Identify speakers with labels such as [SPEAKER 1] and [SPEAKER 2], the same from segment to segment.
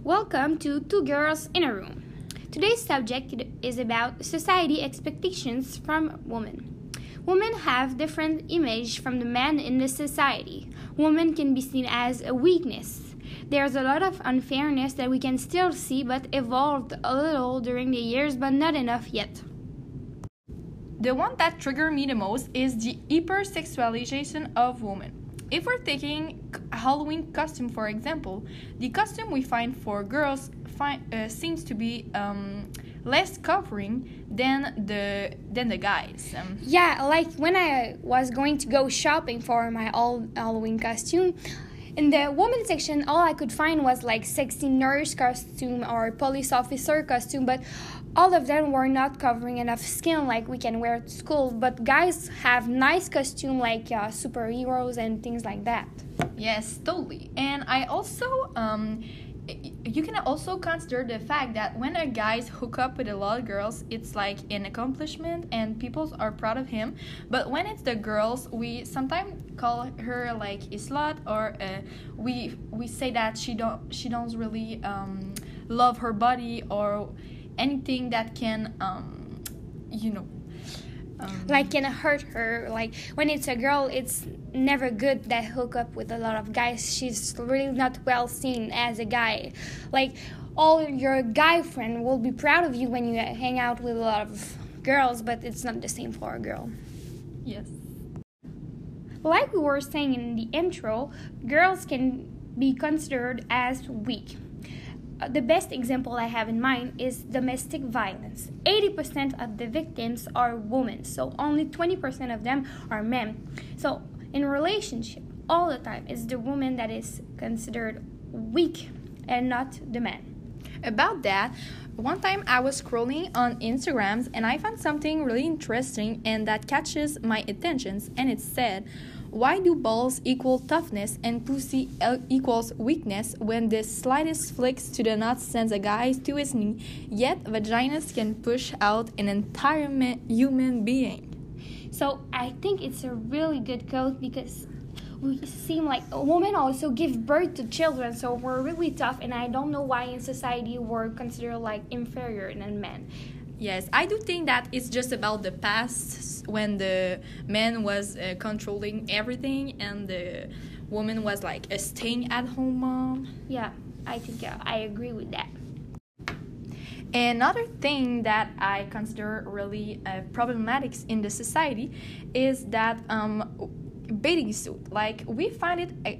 [SPEAKER 1] Welcome to Two Girls in a Room. Today's subject is about society expectations from women. Women have different image from the men in the society. Women can be seen as a weakness. There's a lot of unfairness that we can still see but evolved a little during the years but not enough yet.
[SPEAKER 2] The one that triggered me the most is the hypersexualization of women. If we're taking a Halloween costume, for example, the costume we find for girls seems to be less covering than the guys.
[SPEAKER 1] Yeah, like when I was going to go shopping for my Halloween costume, in the women's section, all I could find was like sexy nurse costume or police officer costume, but all of them were not covering enough skin like we can wear to school. But guys have nice costume like superheroes and things like that.
[SPEAKER 2] Yes, totally. And I also you can also consider the fact that when a guys hook up with a lot of girls, it's like an accomplishment and people are proud of him. But when it's the girls, we sometimes call her like a slut, or we say that she don't really love her body, or anything that can
[SPEAKER 1] like can hurt her. Like when it's a girl, it's never good that hook up with a lot of guys. She's really not well seen as a guy. Like all your guy friend will be proud of you when you hang out with a lot of girls, but it's not the same for a girl.
[SPEAKER 2] Yes.
[SPEAKER 1] Like we were saying in the intro, girls can be considered as weak. The best example I have in mind is domestic violence. 80% of the victims are women, so only 20% of them are men. So in a relationship, all the time, it's the woman that is considered weak and not the man.
[SPEAKER 2] About that, one time I was scrolling on Instagrams and I found something really interesting and that catches my attention, and it said, why do balls equal toughness and pussy equals weakness when the slightest flicks to the nuts sends a guy to his knee, yet vaginas can push out an entire human being?
[SPEAKER 1] So I think it's a really good quote because we seem like women also give birth to children, so we're really tough, and I don't know why in society we're considered like inferior than men.
[SPEAKER 2] Yes, I do think that it's just about the past when the man was controlling everything and the woman was like a staying-at-home mom.
[SPEAKER 1] Yeah, I think I agree with that.
[SPEAKER 2] Another thing that I consider really problematic in the society is that bathing suit. Like we found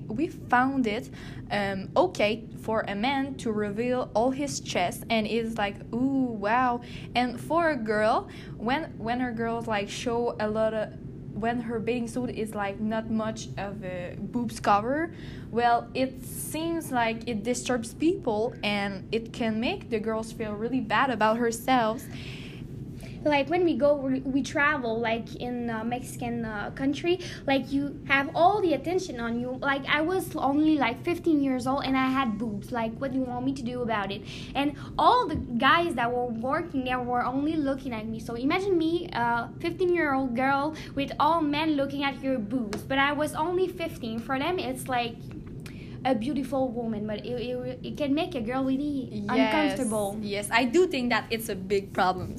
[SPEAKER 2] it okay for a man to reveal all his chest, and it's like, ooh, wow. And for a girl, when her girls like show a lot of, when her bathing suit is like not much of a boobs cover, well, it seems like it disturbs people and it can make the girls feel really bad about herself.
[SPEAKER 1] Like when we travel, like in Mexican country, like you have all the attention on you. Like I was only like 15 years old and I had boobs. Like what do you want me to do about it? And all the guys that were working there were only looking at me. So imagine me, 15-year-old girl with all men looking at your boobs. But I was only 15. For them, it's like a beautiful woman, but it can make a girl really uncomfortable.
[SPEAKER 2] Yes, I do think that it's a big problem.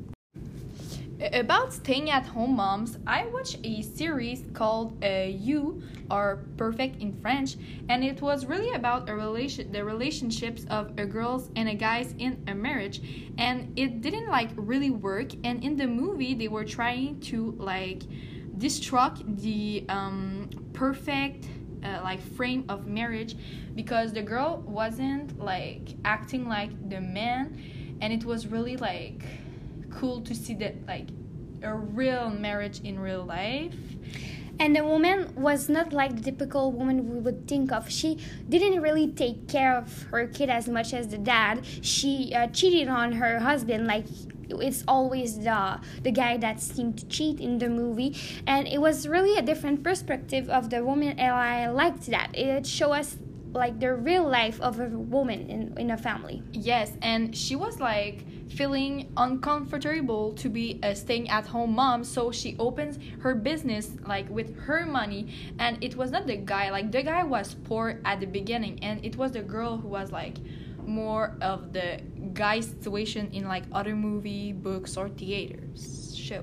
[SPEAKER 2] About staying-at-home moms, I watched a series called You, or Perfect in French, and it was really about the relationships of a girls and a guys in a marriage, and it didn't like really work. And in the movie, they were trying to like destruct the perfect like frame of marriage because the girl wasn't like acting like the man, and it was really like cool to see that like a real marriage in real life.
[SPEAKER 1] And the woman was not like the typical woman we would think of. She didn't really take care of her kid as much as the dad. She cheated on her husband. Like it's always the guy that seemed to cheat in the movie, and it was really a different perspective of the woman, and I liked that. It showed us like the real life of a woman in a family.
[SPEAKER 2] Yes, and she was like feeling uncomfortable to be a staying-at-home mom, so she opens her business like with her money, and it was not the guy. Like the guy was poor at the beginning, and it was the girl who was like more of the guy situation in like other movie, books, or theaters show.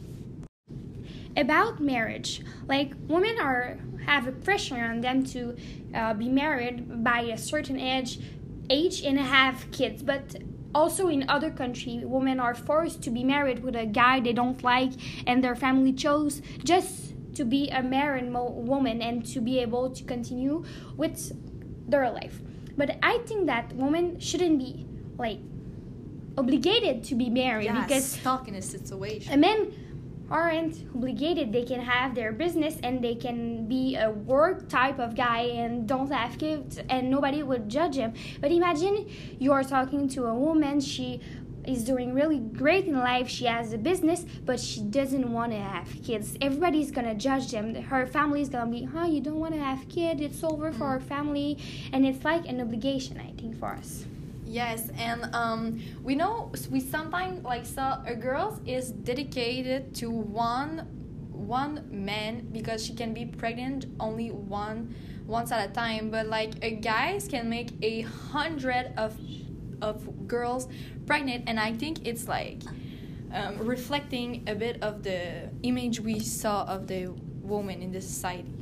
[SPEAKER 1] About marriage, like women have a pressure on them to be married by a certain age and have kids, but also in other countries women are forced to be married with a guy they don't like and their family chose just to be a married woman and to be able to continue with their life. But I think that women shouldn't be like obligated to be married because
[SPEAKER 2] stuck in a situation.
[SPEAKER 1] Men aren't obligated. They can have their business and they can be a work type of guy and don't have kids and nobody would judge him. But imagine you are talking to a woman, she is doing really great in life, she has a business, but she doesn't want to have kids. Everybody's gonna judge them. Her family's gonna be, you don't want to have kids, it's over for our family. And it's like an obligation, I think, for us.
[SPEAKER 2] Yes, and we sometimes like saw a girl is dedicated to one man because she can be pregnant only once at a time, but like a guys can make 100 of girls pregnant, and I think it's like reflecting a bit of the image we saw of the woman in the society.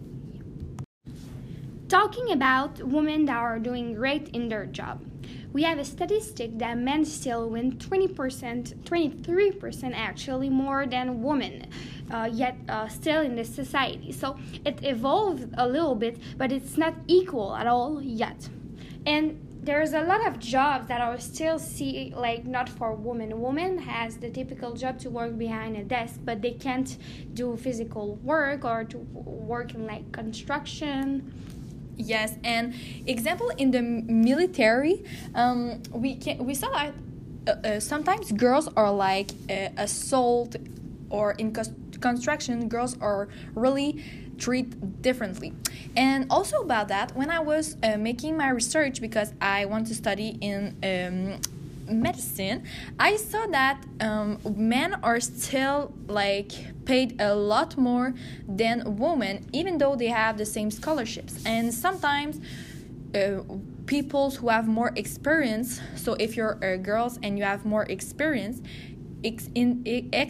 [SPEAKER 1] Talking about women that are doing great in their job, we have a statistic that men still win 20%, 23% actually more than women, yet still in this society. So it evolved a little bit, but it's not equal at all yet. And there's a lot of jobs that are still not for women. Women has the typical job to work behind a desk, but they can't do physical work or to work in like construction.
[SPEAKER 2] Yes, and example in the military, we saw that sometimes girls are like assault, or in construction girls are really treated differently. And also about that, when I was making my research because I want to study in medicine, I saw that men are still like paid a lot more than women, even though they have the same scholarships. And sometimes people who have more experience, so if you're girls and you have more experience in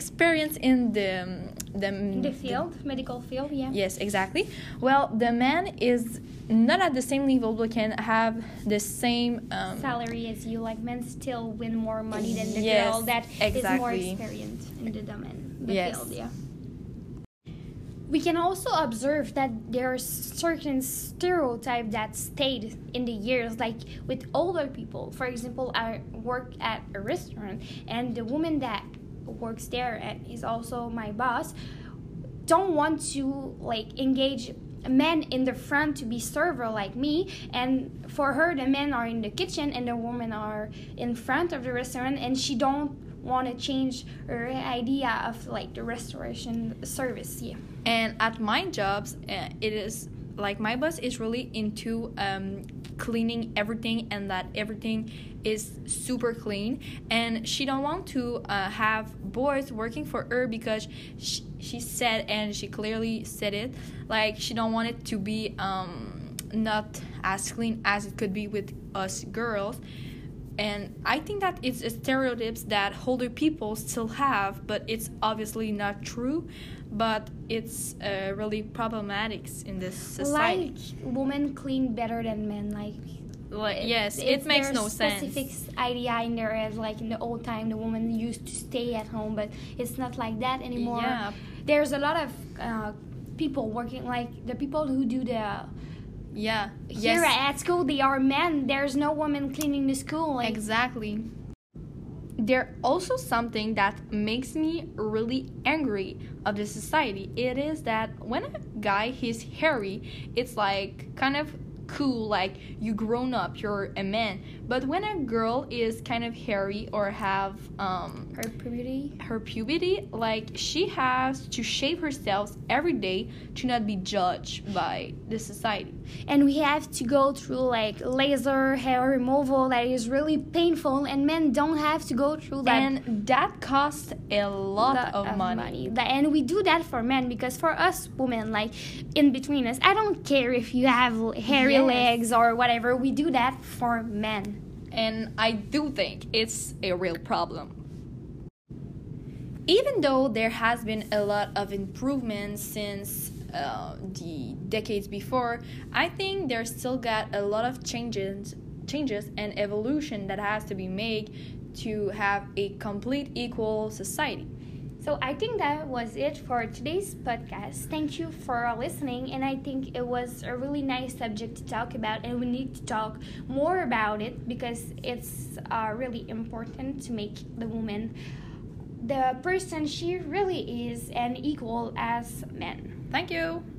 [SPEAKER 2] the
[SPEAKER 1] field, medical field, yeah.
[SPEAKER 2] Yes, exactly. Well, the man is not at the same level, but can have the same
[SPEAKER 1] salary as you. Like men still win more money than the
[SPEAKER 2] yes,
[SPEAKER 1] girl that
[SPEAKER 2] exactly.
[SPEAKER 1] is more experienced in the domain, the
[SPEAKER 2] yes.
[SPEAKER 1] field, yeah. We can also observe that there are certain stereotypes that stayed in the years, like with older people. For example, I work at a restaurant, and the woman that works there and is also my boss don't want to like engage men in the front to be server like me, and for her the men are in the kitchen and the women are in front of the restaurant, and she don't want to change her idea of like the restoration service. Yeah.
[SPEAKER 2] And at my jobs, it is like my boss is really into cleaning everything, and that everything is super clean, and she don't want to have boys working for her because she said, and she clearly said it, like she don't want it to be not as clean as it could be with us girls. And I think that it's a stereotypes that older people still have, but it's obviously not true, but it's really problematic in this society.
[SPEAKER 1] Like women clean better than men, like
[SPEAKER 2] yes, it makes no sense.
[SPEAKER 1] Specific idea in there as like in the old time the woman used to stay at home, but it's not like that anymore.
[SPEAKER 2] Yeah.
[SPEAKER 1] There's a lot of people working, like the people who do the
[SPEAKER 2] here
[SPEAKER 1] yes. At school they are men. There's no woman cleaning the school. Like.
[SPEAKER 2] Exactly. There's also something that makes me really angry of the society. It is that when a guy is hairy, it's like kind of cool, like you grown up, you're a man. But when a girl is kind of hairy or have her puberty, like she has to shave herself every day to not be judged by the society.
[SPEAKER 1] And we have to go through like laser hair removal that is really painful, and men don't have to go through that.
[SPEAKER 2] And that costs a lot of money.
[SPEAKER 1] And we do that for men because for us women, like in between us, I don't care if you have hairy legs or whatever, we do that for men.
[SPEAKER 2] and I do think it's a real problem. Even though there has been a lot of improvements since the decades before, I think there's still got a lot of changes and evolution that has to be made to have a complete equal society.
[SPEAKER 1] So I think that was it for today's podcast. Thank you for listening, and I think it was a really nice subject to talk about, and we need to talk more about it because it's really important to make the woman the person she really is and equal as men.
[SPEAKER 2] Thank you.